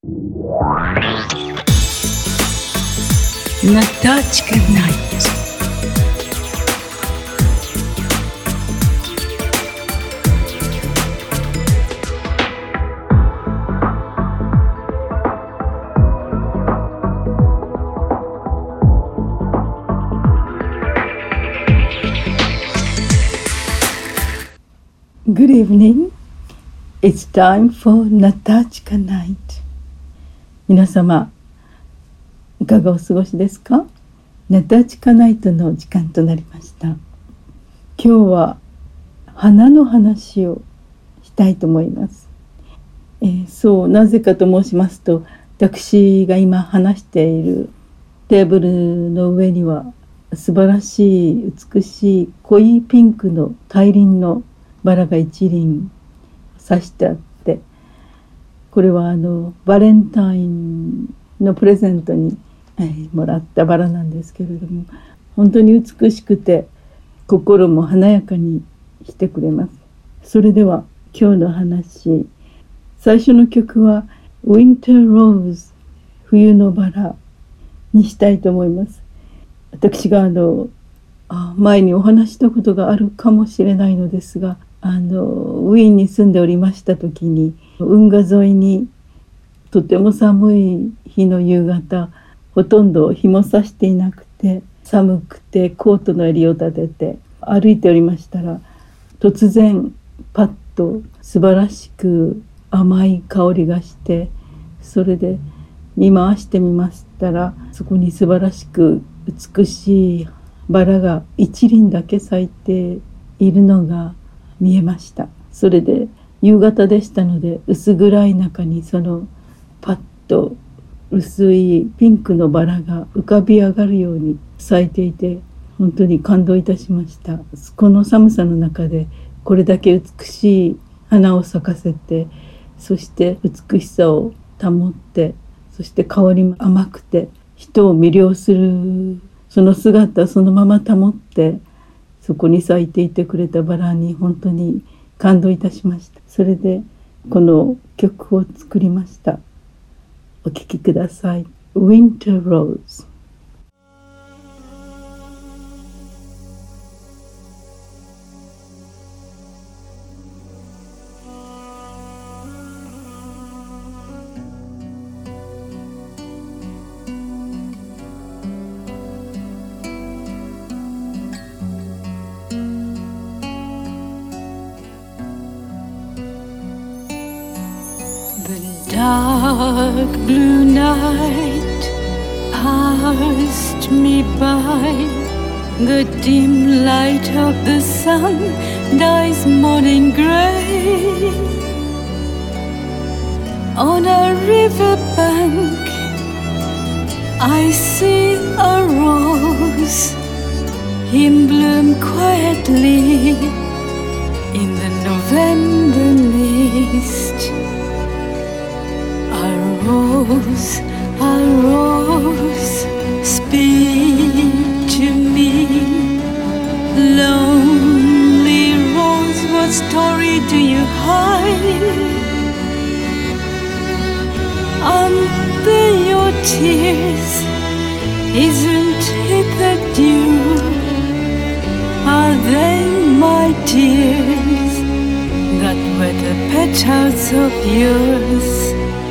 Natachka Night. Good evening. It's time for Natachka Night. 皆様、いかがお過ごしですか？ナタチカナイトの時間となりました。今日は花の話をしたいと思います。なぜかと申しますと、私が今話しているテーブルの上には素晴らしい美しい濃いピンクの大輪のバラが一輪挿してあって、これはバレンタインのプレゼントに、もらったバラなんですけれども、本当に美しくて心も華やかにしてくれます。それでは今日の話、最初の曲は Winter Rose 冬のバラにしたいと思います。私が前にお話したことがあるかもしれないのですが、ウィーンに住んでおりました時に、運河沿いにとても寒い日の夕方、ほとんど日も差していなくて寒くてコートの襟を立てて歩いておりましたら、突然パッと素晴らしく甘い香りがして、それで見回してみましたら、そこに素晴らしく美しいバラが一輪だけ咲いているのが見えました。それで夕方でしたので、薄暗い中にそのパッと薄いピンクのバラが浮かび上がるように咲いていて、本当に感動いたしました。この寒さの中でこれだけ美しい花を咲かせて、そして美しさを保って、そして香りも甘くて人を魅了するその姿そのまま保って、そこに咲いていてくれたバラに本当に感動いたしました。それでこの曲を作りました。お聴きください。 Winter Rose。 The dark blue night passed me by. The dim light of the sun dyes morning gray. On a river bank I see a rose in bloom quietly in the November mist. A rose, speak to me. Lonely rose, what story do you hide? Under your tears, isn't it the dew? Are they my tears that wet the petals of yours?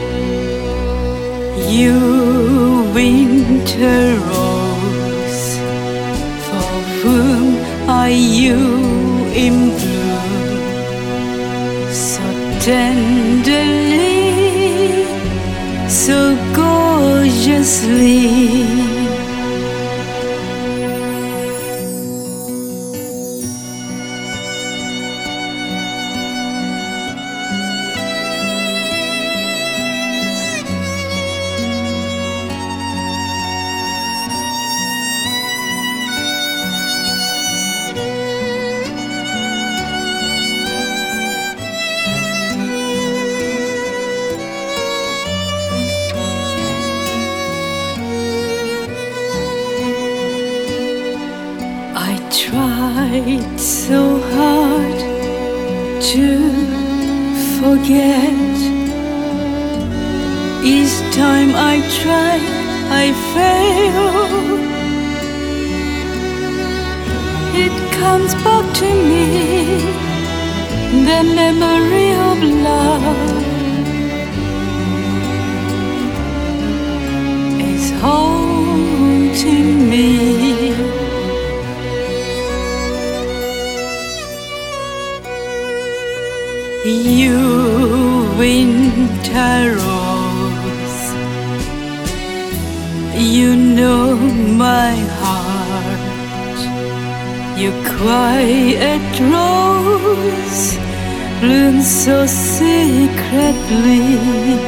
You winter rose, for whom are you in bloom? So tenderly, so gorgeously. Tried so hard to forget. Each time I try, I fail. It comes back to me, the memory of love is haunting me. You winter rose, you know my heart. You quiet rose blooms so secretly.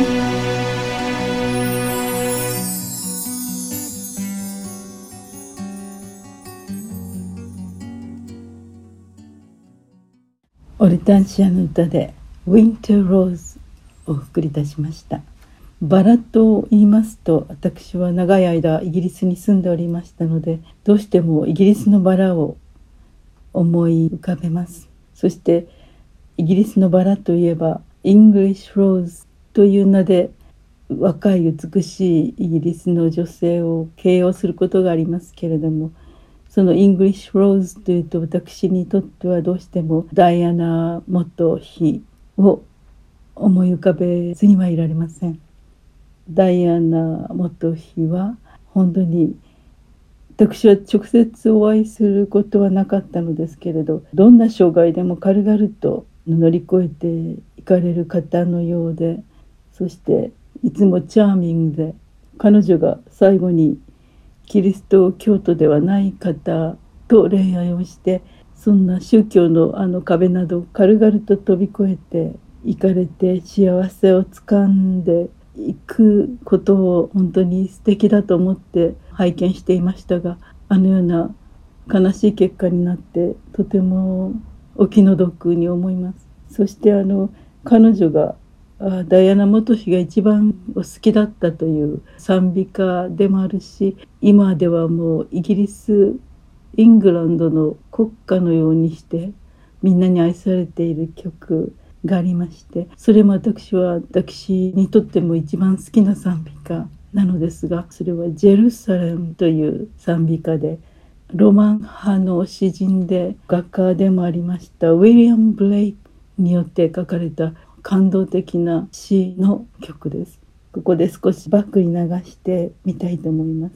オルタンシアの歌でウィンターローズをお送りいたしました。バラと言いますと、私は長い間イギリスに住んでおりましたので、どうしてもイギリスのバラを思い浮かべます。そしてイギリスのバラといえばイングリッシュローズという名で若い美しいイギリスの女性を形容することがありますけれども、そのイングリッシュローズというと、私にとってはどうしてもダイアナ元妃を思い浮かべずにはいられません。ダイアナ元妃は本当に、私は直接お会いすることはなかったのですけれど、どんな障害でも軽々と乗り越えていかれる方のようで、そしていつもチャーミングで、彼女が最後にキリスト教徒ではない方と恋愛をして、そんな宗教の壁など軽々と飛び越えていかれて、幸せをつかんでいくことを本当に素敵だと思って拝見していましたが、あのような悲しい結果になってとてもお気の毒に思います。そして彼女がダイアナ元妃が一番お好きだったという賛美歌でもあるし、今ではもうイギリス、イングランドの国歌のようにしてみんなに愛されている曲がありまして、それも私にとっても一番好きな賛美歌なのですが、それはジェルサレムという賛美歌で、ロマン派の詩人で画家でもありましたウィリアム・ブレイクによって書かれた感動的な詩の曲です。ここで少しバックに流してみたいと思います。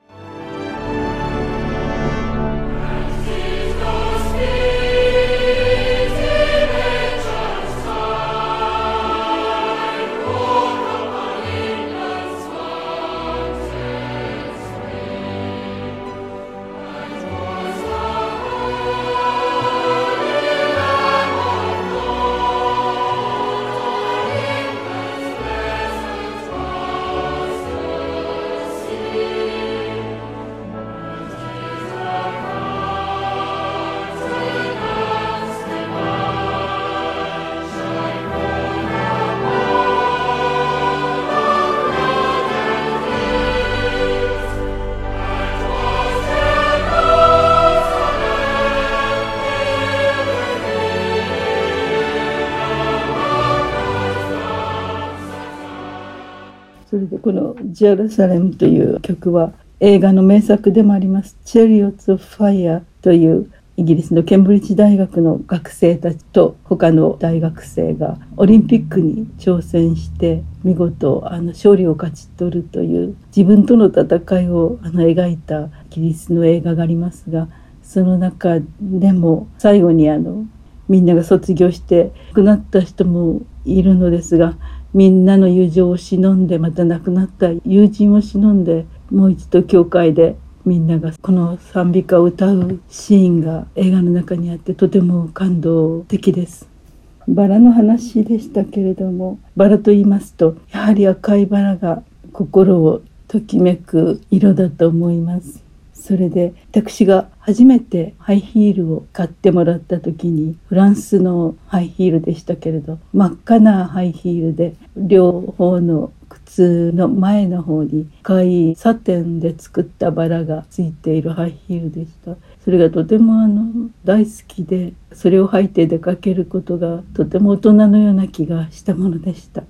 それでこのジェルサレムという曲は映画の名作でもありますチェリオッツ・オブ・ファイアというイギリスのケンブリッジ大学の学生たちと他の大学生がオリンピックに挑戦して見事勝利を勝ち取るという自分との戦いを描いたイギリスの映画がありますが、その中でも最後にみんなが卒業して亡くなった人もいるのですが、みんなの友情を忍んで、また亡くなった友人を忍んで、もう一度教会でみんながこの賛美歌を歌うシーンが映画の中にあって、とても感動的です。バラの話でしたけれども、バラと言いますとやはり赤いバラが心をときめく色だと思います。それで私が初めてハイヒールを買ってもらった時に、フランスのハイヒールでしたけれど、真っ赤なハイヒールで、両方の靴の前の方に赤いサテンで作ったバラがついているハイヒールでした。それがとても大好きで、それを履いて出かけることがとても大人のような気がしたものでした。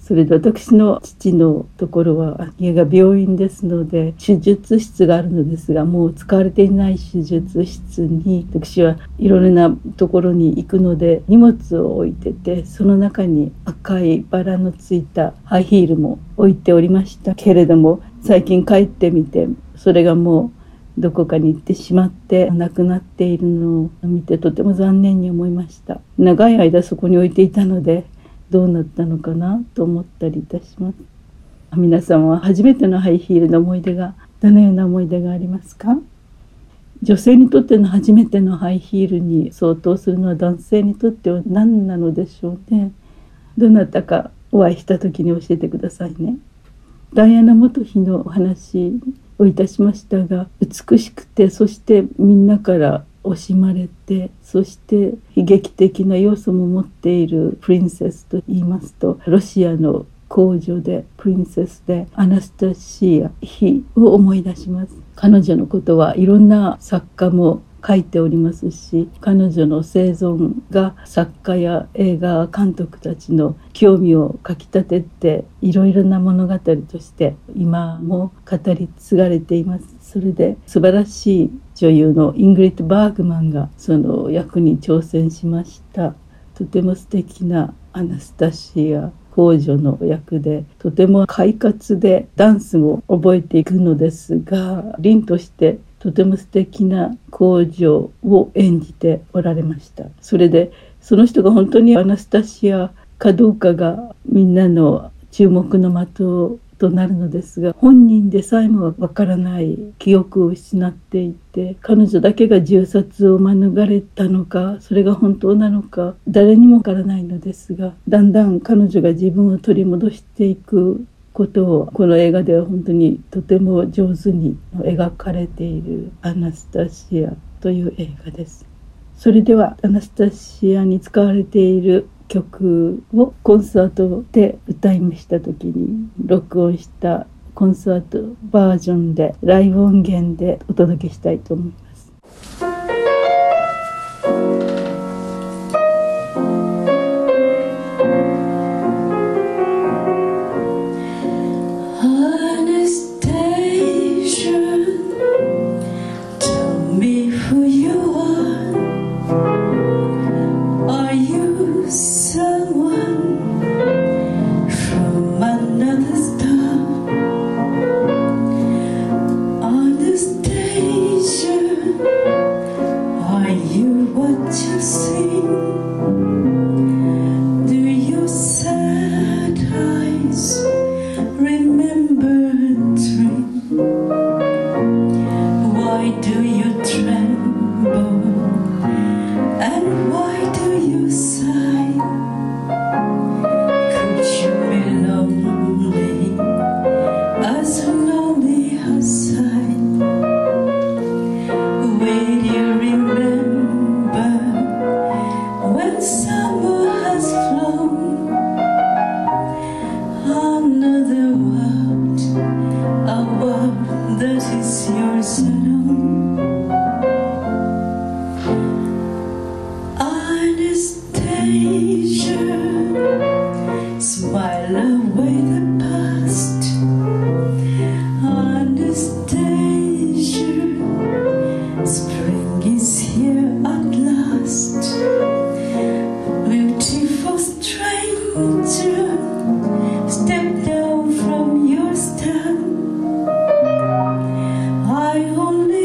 それで私の父のところは家が病院ですので、手術室があるのですが、もう使われていない手術室に私はいろいろなところに行くので、荷物を置いてて、その中に赤いバラのついたハイヒールも置いておりましたけれども、最近帰ってみて、それがもうどこかに行ってしまってなくなっているのを見て、とても残念に思いました。長い間そこに置いていたので、どうなったのかなと思ったりいたします。皆さんは初めてのハイヒールの思い出が、どのような思い出がありますか？女性にとっての初めてのハイヒールに相当するのは男性にとっては何なのでしょうね。どなたかお会いした時に教えてくださいね。ダイアナ元妃のお話をいたしましたが、美しくて、そしてみんなから惜しまれて、そして悲劇的な要素も持っているプリンセスと言いますと、ロシアの皇女でプリンセスでアナスタシア妃を思い出します。彼女のことはいろんな作家も書いておりますし、彼女の生存が作家や映画監督たちの興味をかきたてて、いろいろな物語として今も語り継がれています。それで素晴らしい女優のイングリッド・バーグマンがその役に挑戦しました。とても素敵なアナスタシア皇女の役で、とても快活でダンスも覚えていくのですが、凛としてとても素敵な皇女を演じておられました。それでその人が本当にアナスタシアかどうかがみんなの注目の的となるのですが、本人でさえもわからない記憶を失っていて、彼女だけが銃殺を免れたのか、それが本当なのか誰にもわからないのですが、だんだん彼女が自分を取り戻していくことをこの映画では本当にとても上手に描かれているアナスタシアという映画です。それではアナスタシアに使われている曲をコンサートで歌いました時に録音したコンサートバージョンで、ライブ音源でお届けしたいと思います。 I only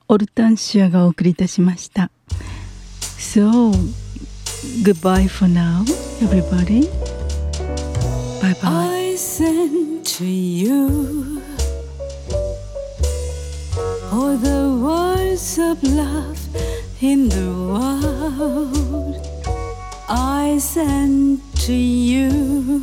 オルタンシアがお送りいたしました。So, goodbye for now, everybody. Bye bye. I send to you all the words of love in the world. I send to you